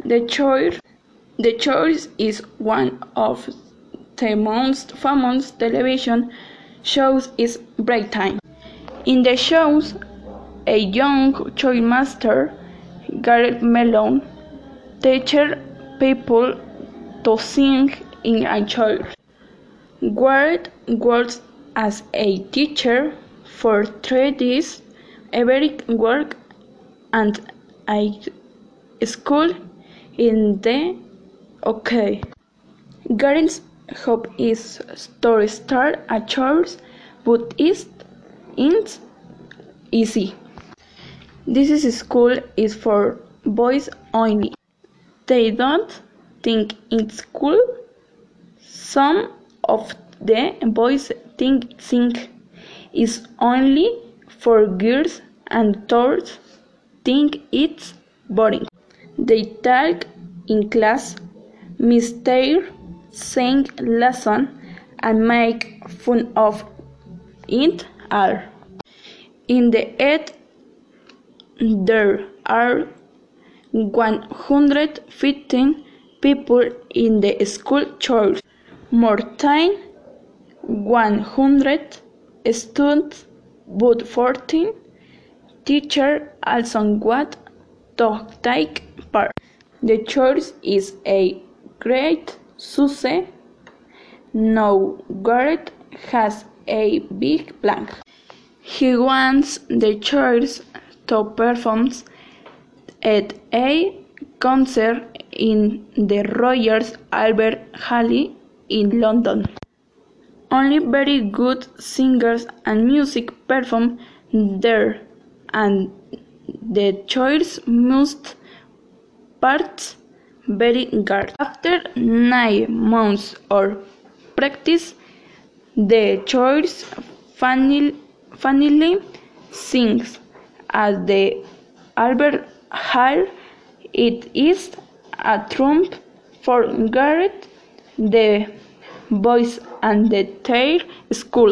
The Choir. The Choir is one of the most famous television shows in Britain. In the shows, a young choir master, Gareth Mellon, teaches people to sing in a choir. Gareth works as a teacher for 3 days every week and a school in the UK. Gareth's hope is to start a church, but it's easy. This school is for boys only. They don't think it's cool. Some of the boys think it's only for girls and others think it's boring. They talk in class, mistake sing lesson, and make fun of it all. In the end, there are 115 people in the school church, more than 100 students, but 14 teachers also want to take part. The church is a great success. Now Gareth has a big plan. He wants the church to perform at a concert in the Royal Albert Hall in London. Only very good singers and music perform there, and the church must part very hard. After 9 months of practice, the church finally sings at the Albert Hall. It is a triumph for Gareth, the boys, and the entire school.